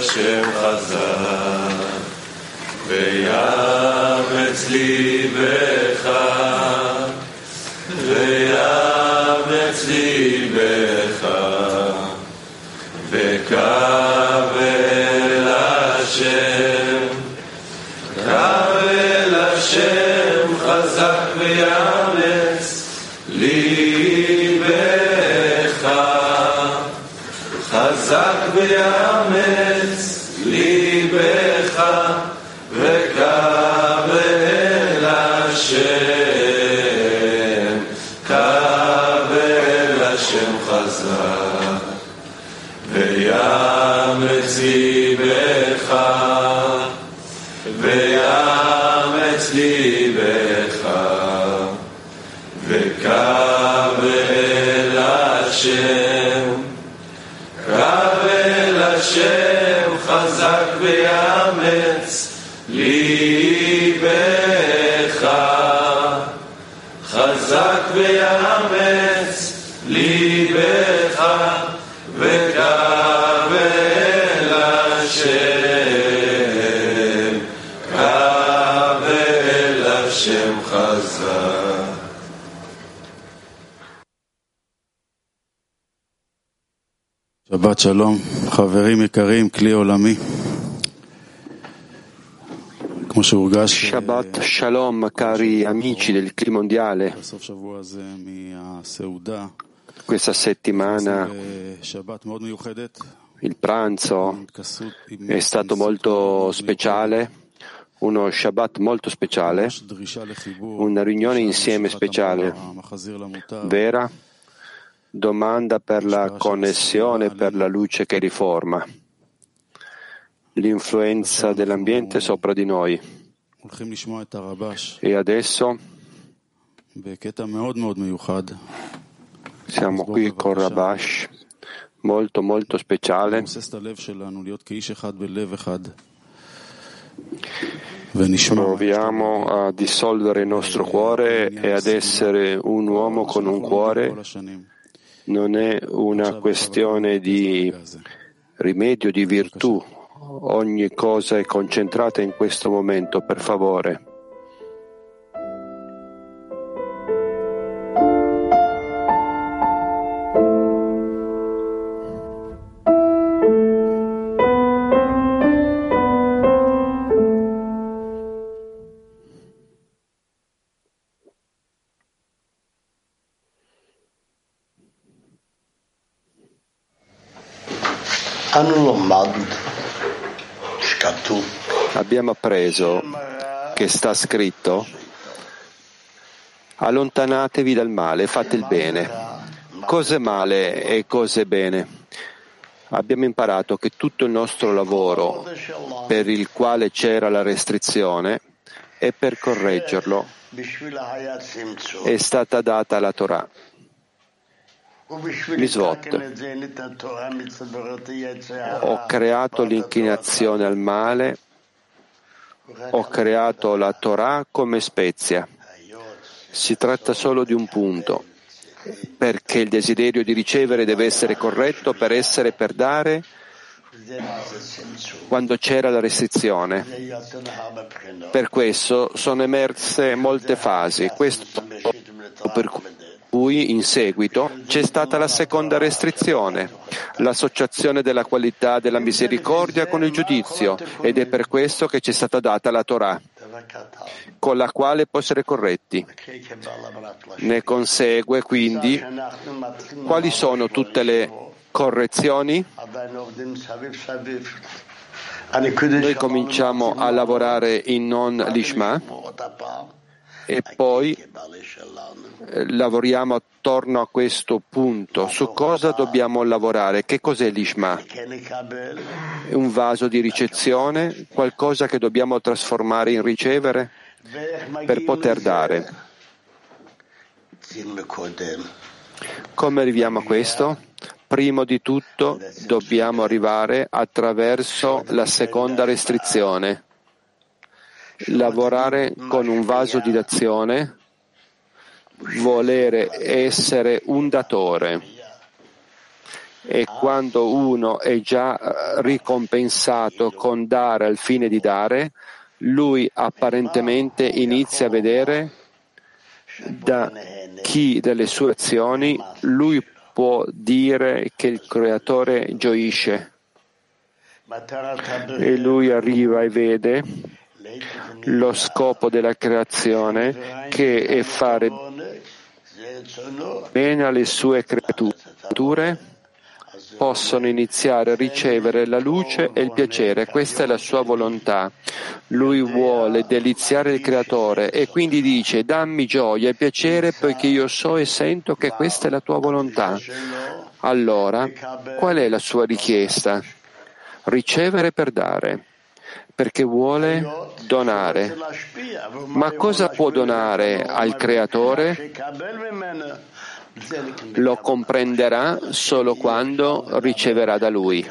השם חזק ויאמץ ליבך ויאמץ ליבך וקבל השם קבל השם חזק ויאמץ ליבך חזק ויאמץ ליבך וקבל השם קבל השם חזק ויאמץ ליבך ויאמץ ליבך וקבל השם קבל השם חזק ויאמץ ליבך חזק ויאמץ ליבך וקבל השם קבל השם חזק. שבת שלום, חברים יקרים, כלי עולמי. כמו שהורגש Shabbat Shalom, cari amici del clima mondiale. בסוף שבוע הזה מהסעודה, Questa settimana שבת מאוד מיוחדת, il pranzo è stato molto speciale, uno Shabbat molto speciale, una riunione insieme speciale, vera domanda per la connessione, per la luce che riforma, l'influenza dell'ambiente sopra di noi. E adesso siamo qui con Rabash, molto molto speciale. Proviamo a dissolvere il nostro cuore e ad essere un uomo con un cuore. Non è una questione di rimedio, di virtù. Ogni cosa è concentrata in questo momento, per favore. Abbiamo appreso che sta scritto: allontanatevi dal male, fate il bene. Cos'è male e cos'è bene? Abbiamo imparato che tutto il nostro lavoro per il quale c'era la restrizione e per correggerlo è stata data la Torah. Misvot. Ho creato l'inclinazione al male, ho creato la Torah come spezia. Si tratta solo di un punto, perché il desiderio di ricevere deve essere corretto per dare quando c'era la restrizione. Per questo sono emerse molte fasi. Questo per cui in seguito c'è stata la seconda restrizione, l'associazione della qualità della misericordia con il giudizio, ed è per questo che c'è stata data la Torah, con la quale può essere corretti. Ne consegue quindi quali sono tutte le correzioni? Noi cominciamo a lavorare in non lishma e poi lavoriamo attorno a questo punto. Su cosa dobbiamo lavorare? Che cos'è l'Ishma? Un vaso di ricezione, qualcosa che dobbiamo trasformare in ricevere per poter dare. Come arriviamo a questo? Prima di tutto dobbiamo arrivare attraverso la seconda restrizione. Lavorare con un vaso di d'azione, volere essere un datore. E quando uno è già ricompensato con dare al fine di dare, lui apparentemente inizia a vedere da chi delle sue azioni lui può dire che il Creatore gioisce. E lui arriva e vede lo scopo della creazione, che è fare bene alle sue creature, possono iniziare a ricevere la luce e il piacere. Questa è la sua volontà. Lui vuole deliziare il Creatore e quindi dice: dammi gioia e piacere poiché io so e sento che questa è la tua volontà. Allora, qual è la sua richiesta? Ricevere per dare, perché vuole donare. Ma cosa può donare al Creatore? Lo comprenderà solo quando riceverà da Lui.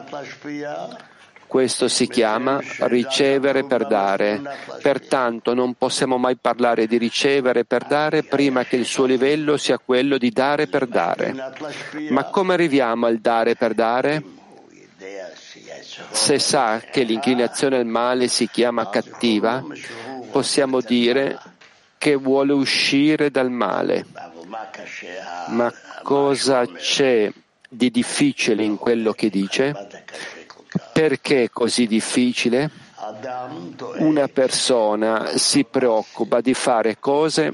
Questo si chiama ricevere per dare. Pertanto non possiamo mai parlare di ricevere per dare prima che il suo livello sia quello di dare per dare. Ma come arriviamo al dare per dare? Se sa che l'inclinazione al male si chiama cattiva, possiamo dire che vuole uscire dal male. Ma cosa c'è di difficile in quello che dice? Perché è così difficile? Una persona si preoccupa di fare cose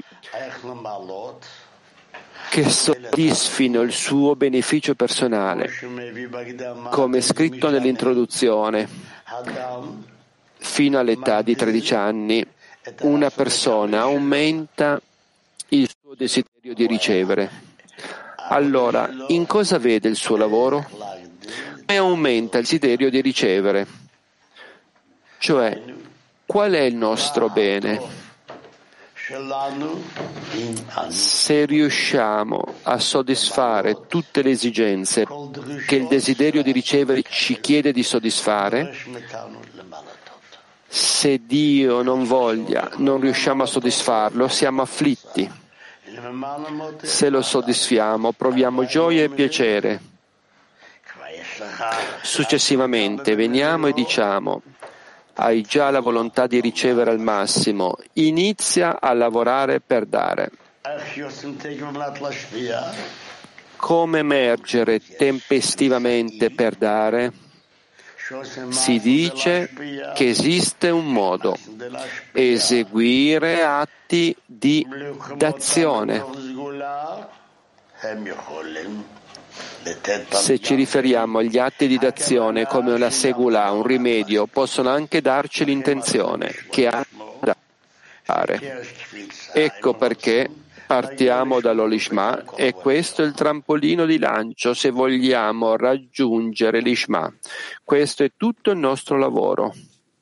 che soddisfino il suo beneficio personale, come scritto nell'introduzione. Fino all'età di 13 anni, una persona aumenta il suo desiderio di ricevere. Allora, in cosa vede il suo lavoro? E aumenta il desiderio di ricevere. Cioè, qual è il nostro bene? Se riusciamo a soddisfare tutte le esigenze che il desiderio di ricevere ci chiede di soddisfare, se Dio non voglia, non riusciamo a soddisfarlo, siamo afflitti. Se lo soddisfiamo, proviamo gioia e piacere. Successivamente veniamo e diciamo: hai già la volontà di ricevere al massimo, inizia a lavorare per dare. Come emergere tempestivamente per dare? Si dice che esiste un modo: eseguire atti di d'azione. Se ci riferiamo agli atti di d'azione come una segula, un rimedio, possono anche darci l'intenzione che ha da fare. Ecco perché partiamo dall'Olishma e questo è il trampolino di lancio se vogliamo raggiungere l'Ishma. Questo è tutto il nostro lavoro.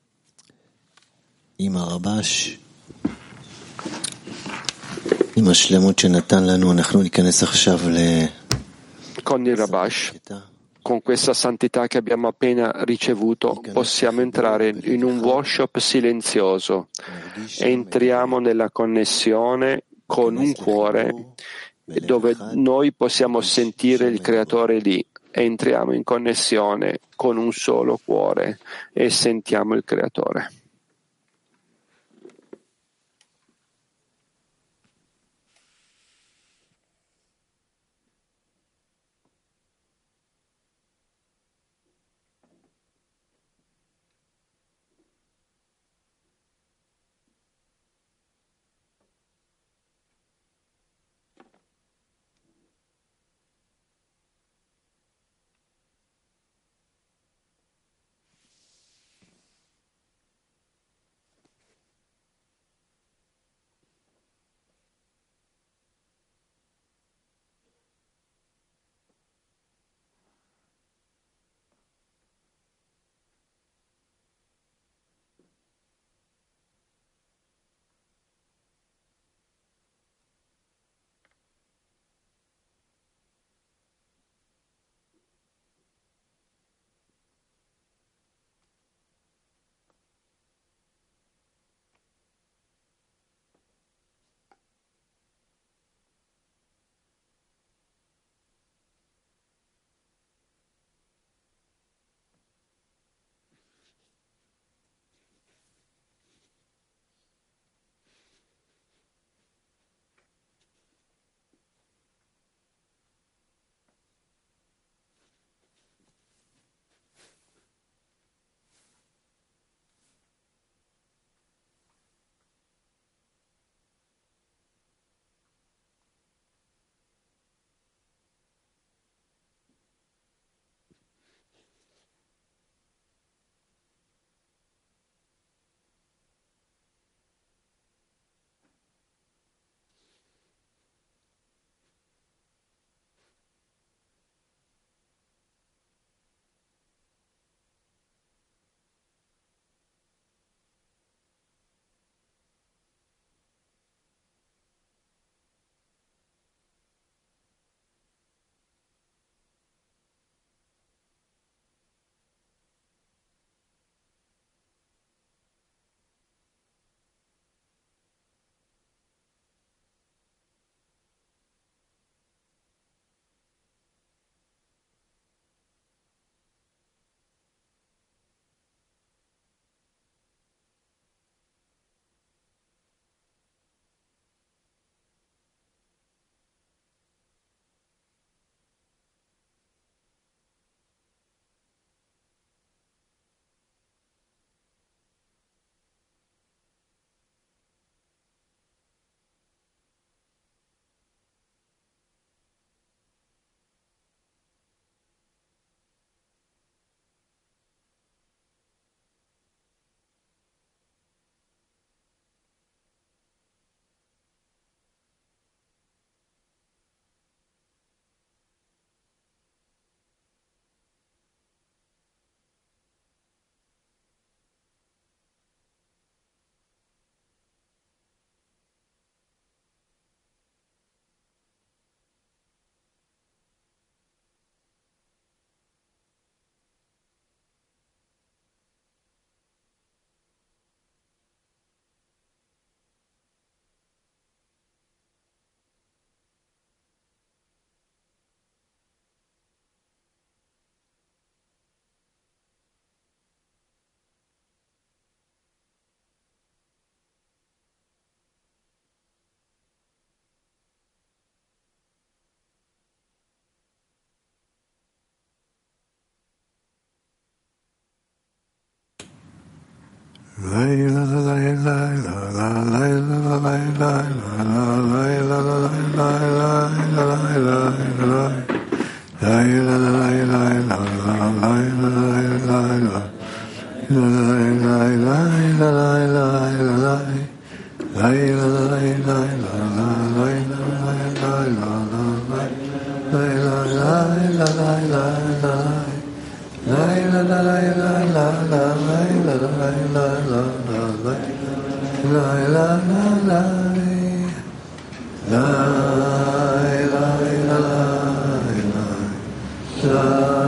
Con il Rabash, con questa santità che abbiamo appena ricevuto, possiamo entrare in un workshop silenzioso. Entriamo nella connessione con un cuore dove noi possiamo sentire il Creatore lì. Entriamo in connessione con un solo cuore e sentiamo il Creatore. La